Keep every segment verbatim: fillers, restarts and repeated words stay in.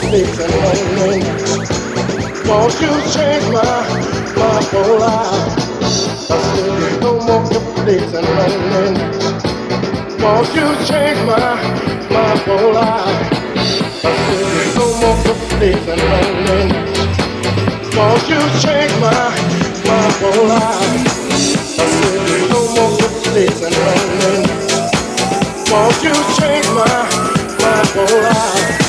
mistakes and lonely. Won't you change my, my whole life? I said there's no more mistakes and lonely. Won't you change my, my whole life? I said there's no more mistakes and lonely. Won't you change my, my whole life? I said there's no more mistakes and lonely. Won't you change my, my whole life?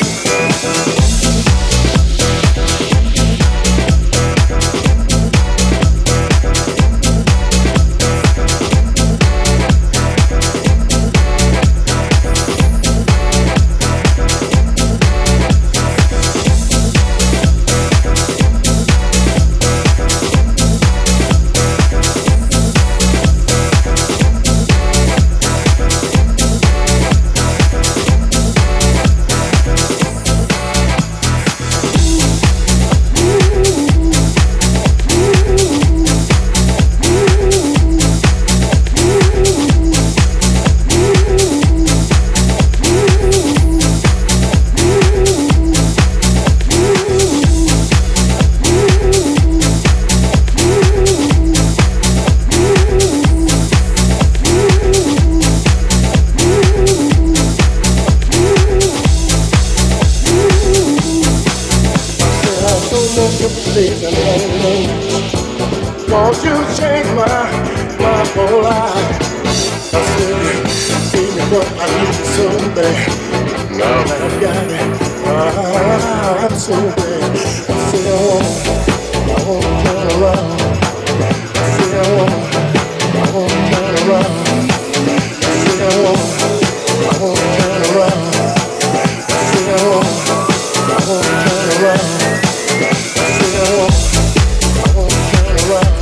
Won't you change my, my whole life? I said, see me what I need so bad. Now that I've got it, I'm so bad. I said I want, I want to turn around. I said I want, I want to turn around. I said I want, I want to turn around. I said I want, I want to turn around. I said I want, I want to turn around.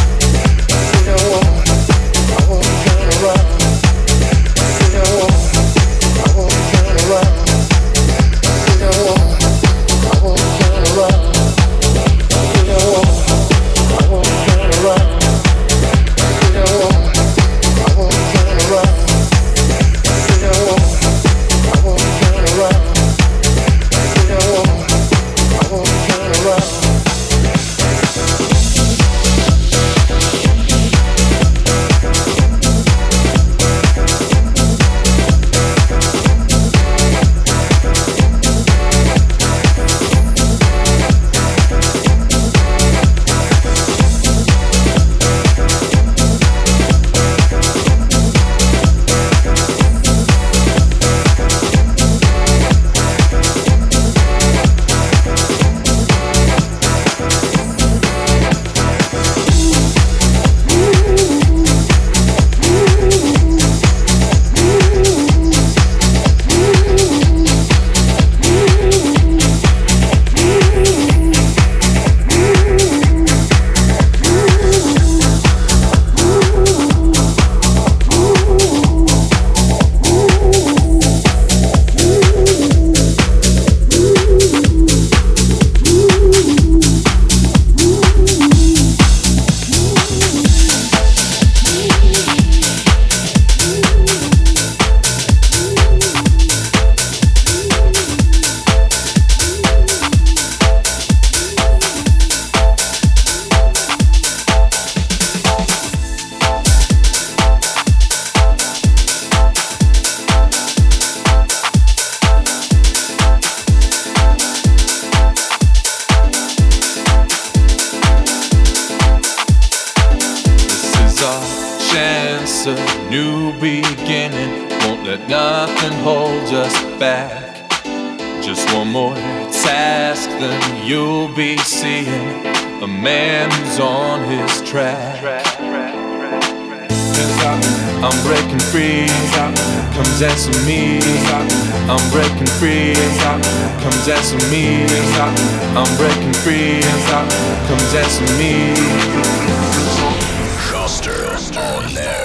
Dance with me, I'm breaking free. Come dance with me, I'm breaking free. Come dance with me. Schuster on there.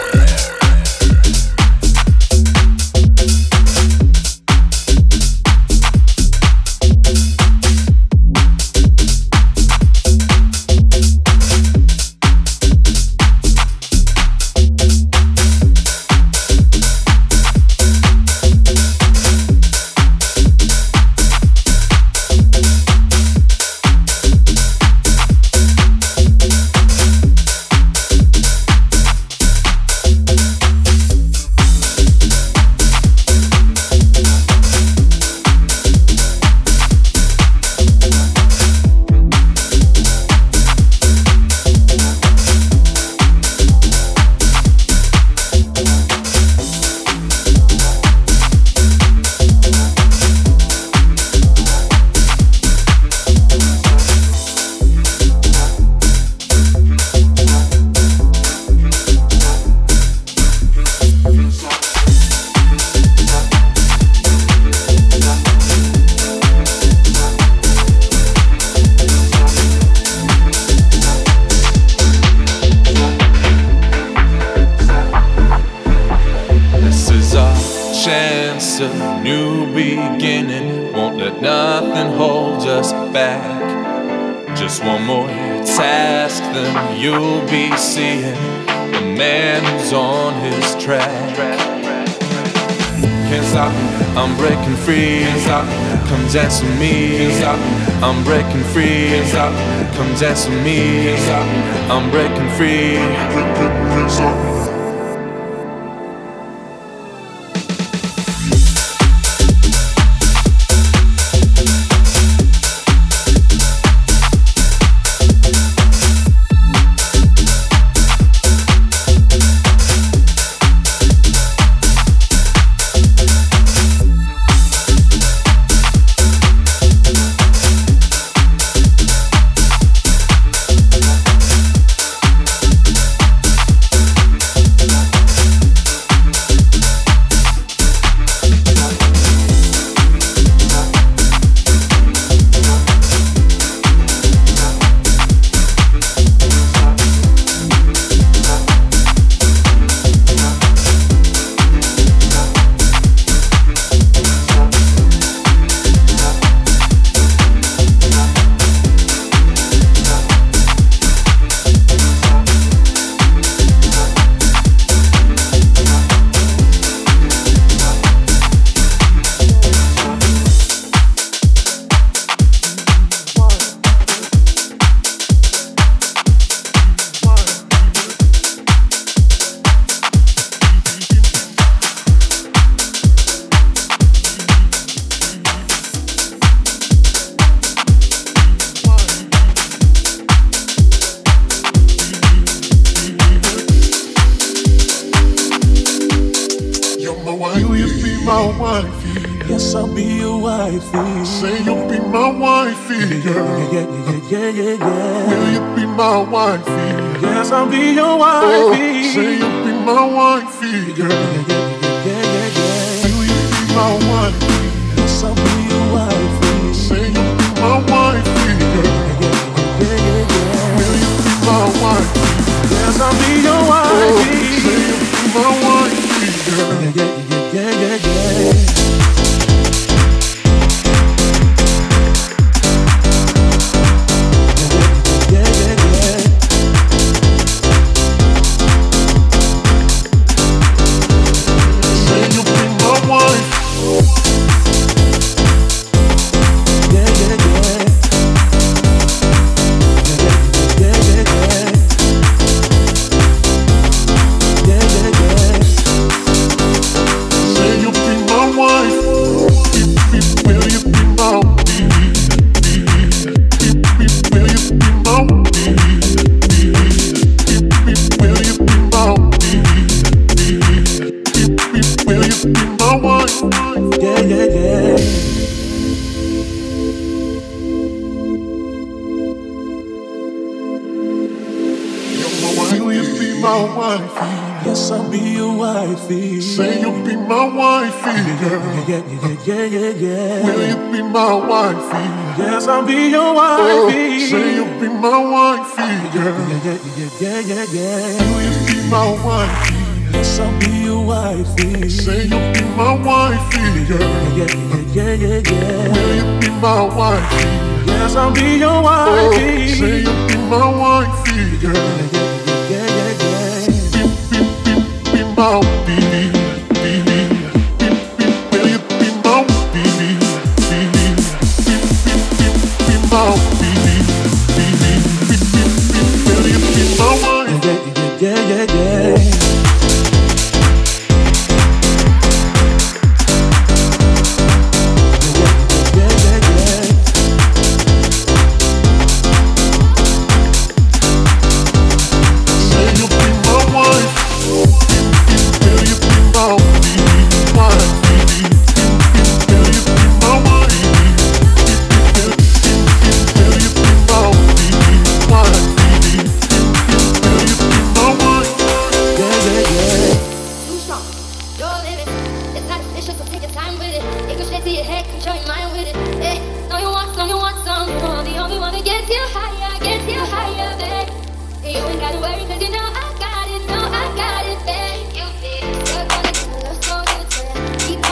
sense of new beginning. Won't let nothing hold us back. Just one more task, then you'll be seeing the man who's on his track. Can't stop, I'm breaking free. Can't stop, come dance with me. Can't stop, I'm breaking free. Can't stop, come dance with me. Can't stop, I'm breaking free. Can't stop. Yes, I'll be your wifey. Say you'll be my wifey, girl. Yeah, yeah, yeah, yeah, yeah. Will you be my wifey? Yes, I'll be your wifey. Oh, say you'll be my wifey, girl. Yeah, yeah, yeah, yeah, yeah. Will you be my wifey? Yes, I'll be your wifey. Say you'll be my wifey, girl. Yeah, yeah, yeah, yeah. Will you be my wifey? Yes, I'll be your wifey. Oh, say you'll be my wifey, girl. Yeah, yeah, yeah, yeah, yeah, yeah. Yes, I'll be your wifey. Say you'll be my wifey, girl. Yeah, yeah, yeah, yeah, yeah. Will you be my wifey? Yes, I'll be your wifey. Oh, say you'll be my wifey, girl. Yeah, yeah, yeah, yeah, yeah. Will you be my wifey? Yes, I'll be your wifey. Say you'll be my wifey, girl. Yeah, yeah, yeah, yeah, yeah. Will you be my wifey? Yes, I'll be your wifey. Oh, say you'll be my wifey, girl. Yeah, yeah, yeah, yeah, yeah. Oh, baby, baby, baby, will you be my baby, baby, baby, be my baby, baby, baby, will you be my wife? Yeah, yeah, yeah, yeah, yeah. Keep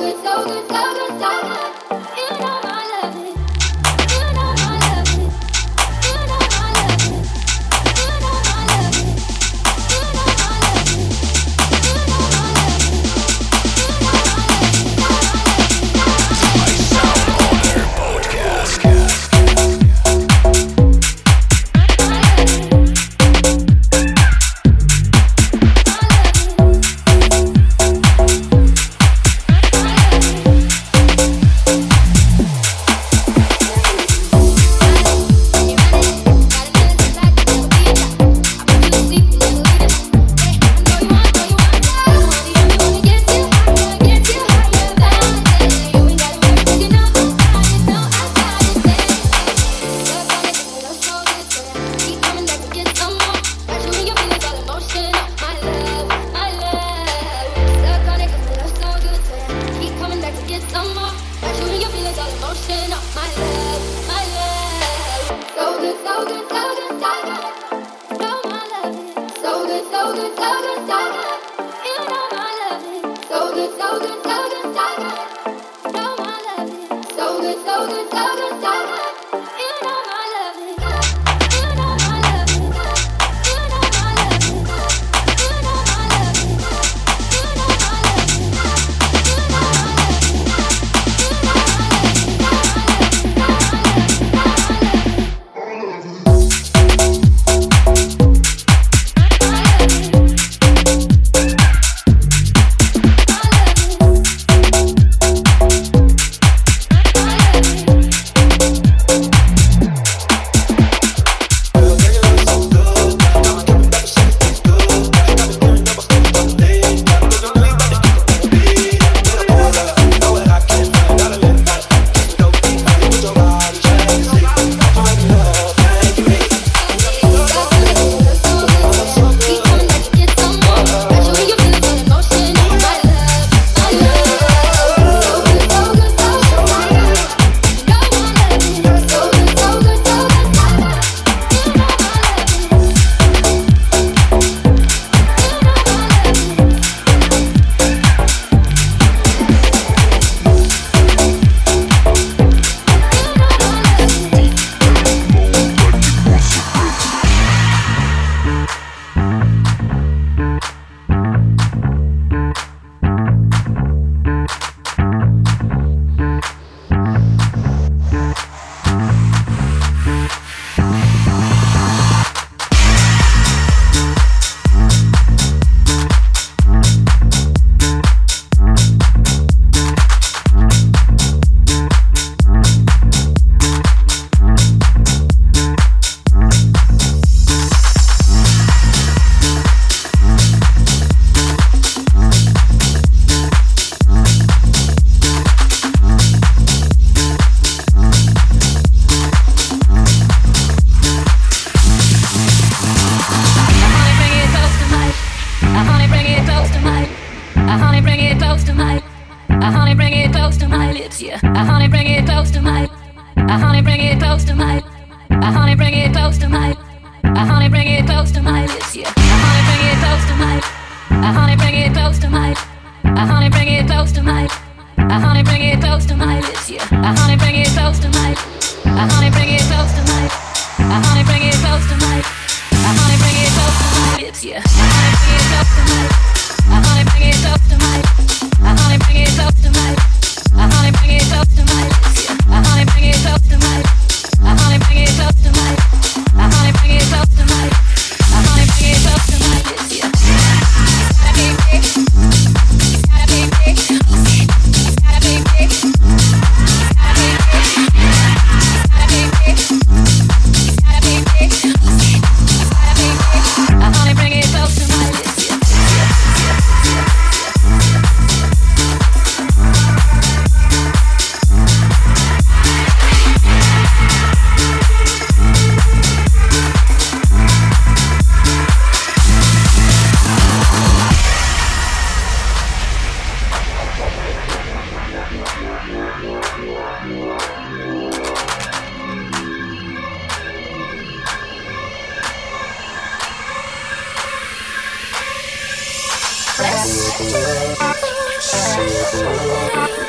Let's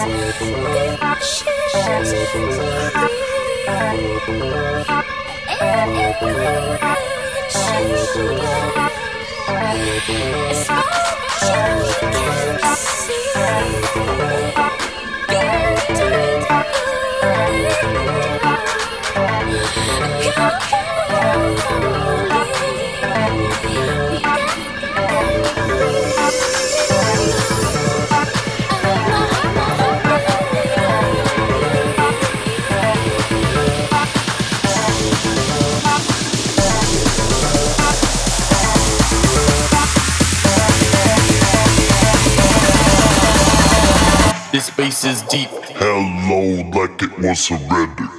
This bass is deep. Hello, like it was surrendered.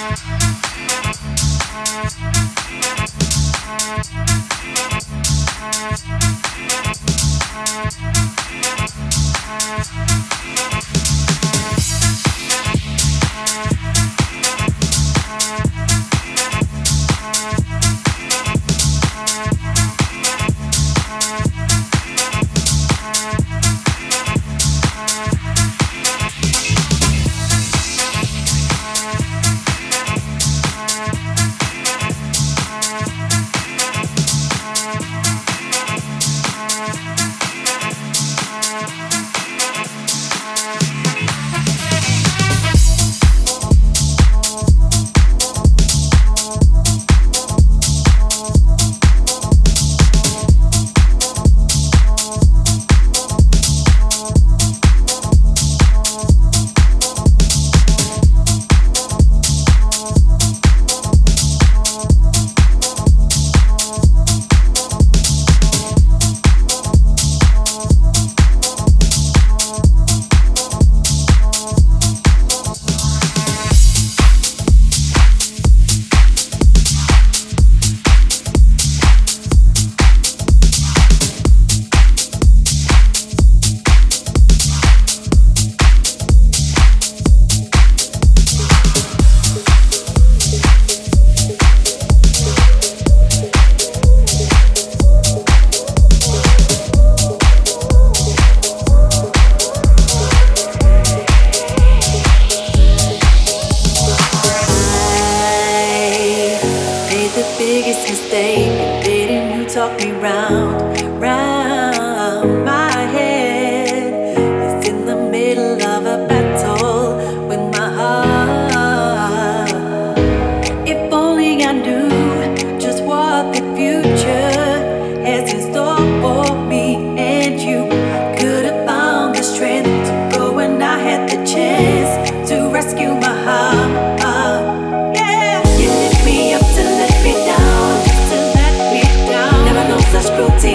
Cruelty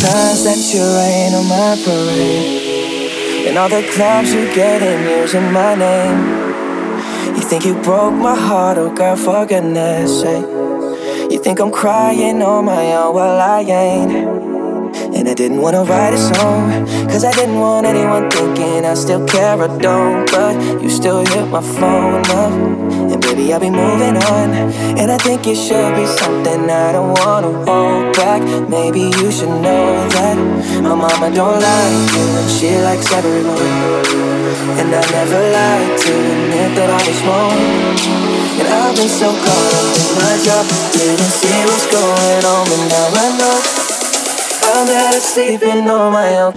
times that you rain on my parade, and all the clubs you get in using my name. You think you broke my heart, oh girl, for goodness sake. You think I'm crying on my own, well I ain't. And I didn't wanna write a song, cause I didn't want anyone thinking I still care or don't. But you still hit my phone up, and baby I'll be moving on. And I think it should be something I don't wanna hold back. Maybe you should know that my mama don't like you, and she likes everyone. And I never lied to admit that I was wrong. And I've been so caught up in my job, didn't see what's going on, but now I know I'm better sleeping on my own.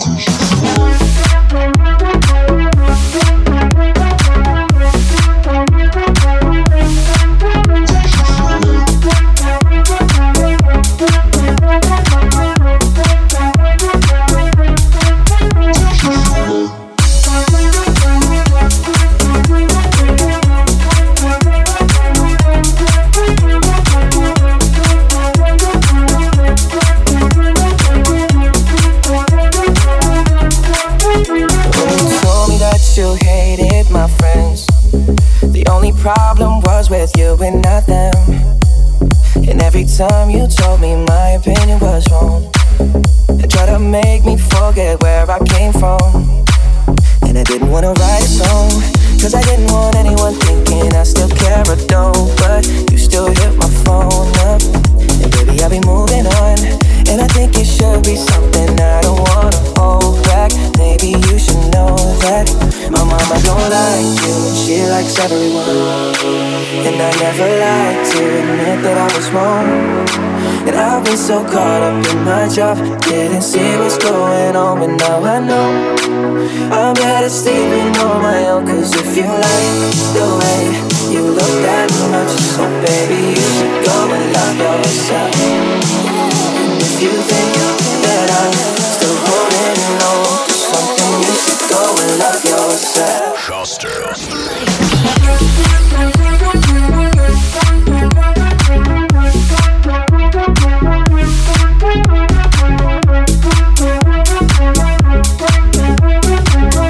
You hated my friends. The only problem was with you and not them. And every time you told me my opinion was wrong, and tried to make me forget where I came from. And I didn't wanna write a song, cause I didn't want anyone thinking I still care or don't. But you still hit my phone up, and baby I'll be moving on. And I think it should be something I don't wanna hold back. Maybe you should know that my mama don't like you, and she likes everyone. And I never lied to admit that I was wrong. And I've been so caught up in my job, didn't see what's going on, but now I know I'm better sleeping on my own. Cause if you like the way you look that much, so baby you should go and love yourself. And if you think that I'm still holding on to something, you should go and love yourself. Schuster.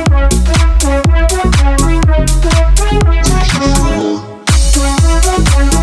We'll be right back.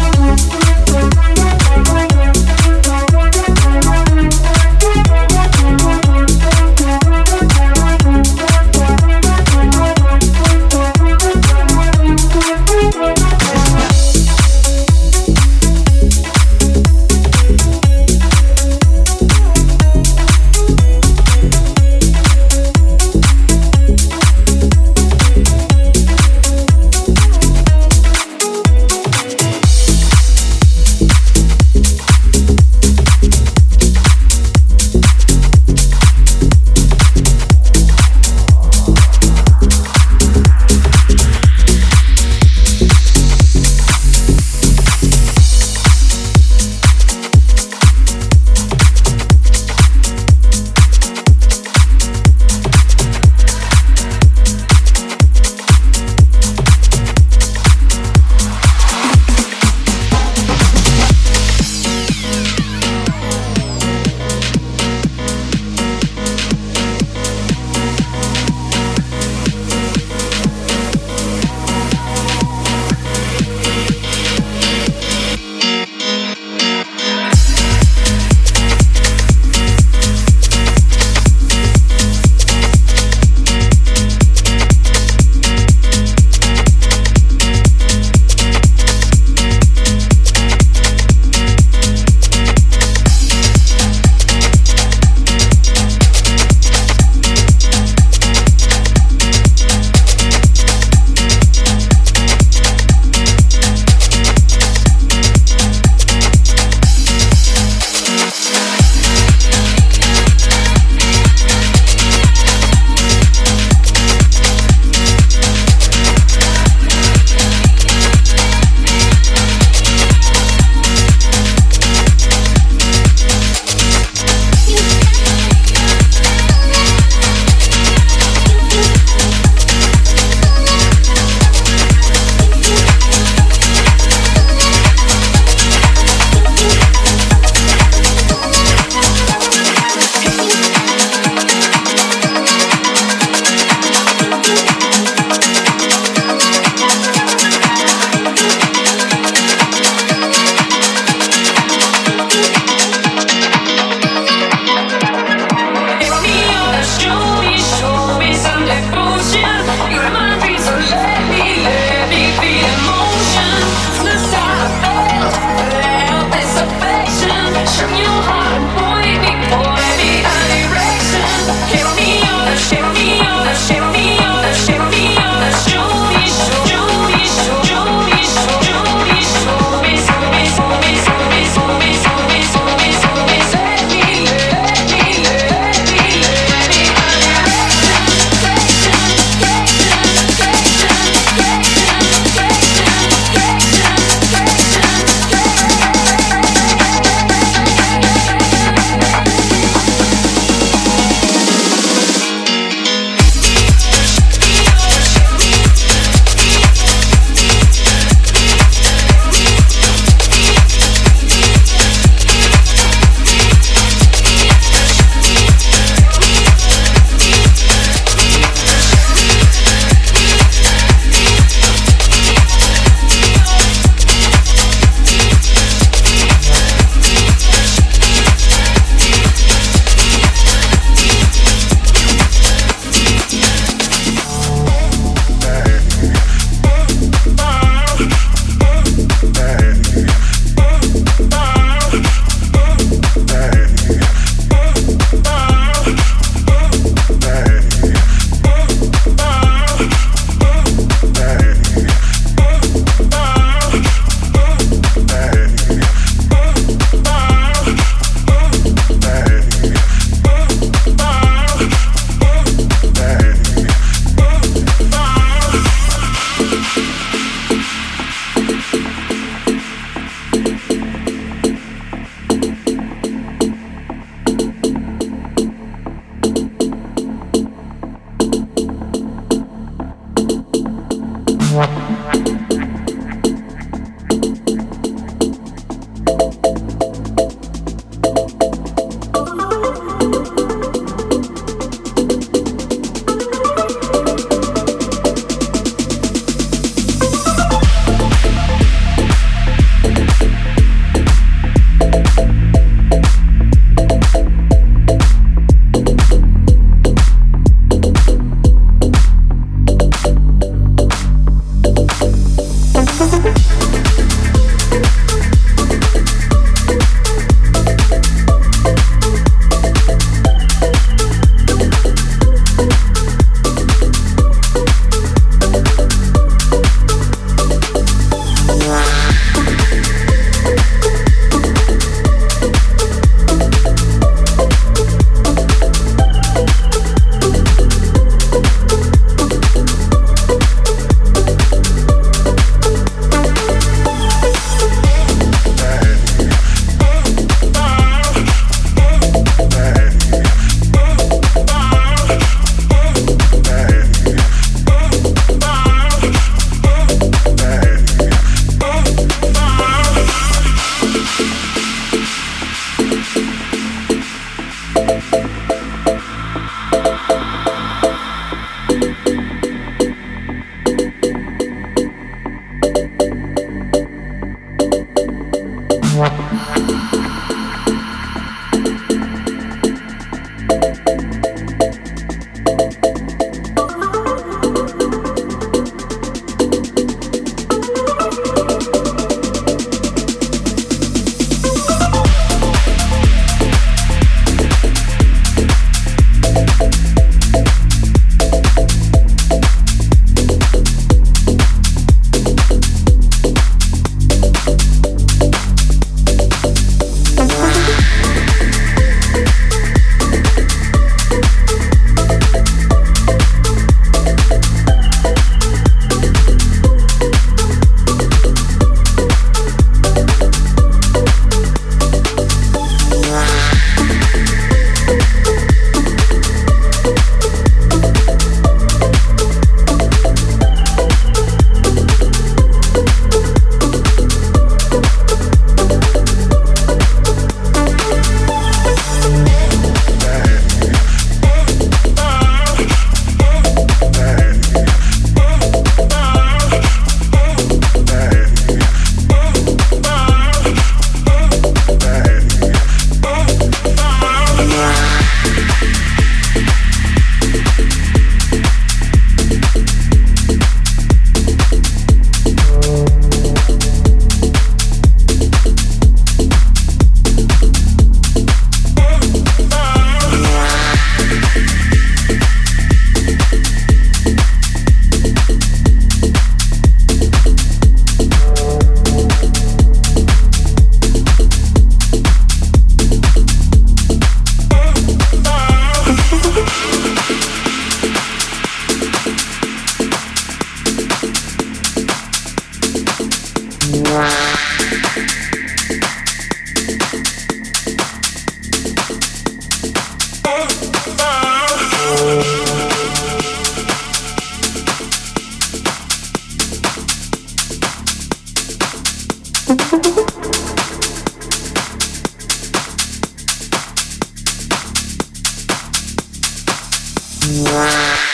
Wow.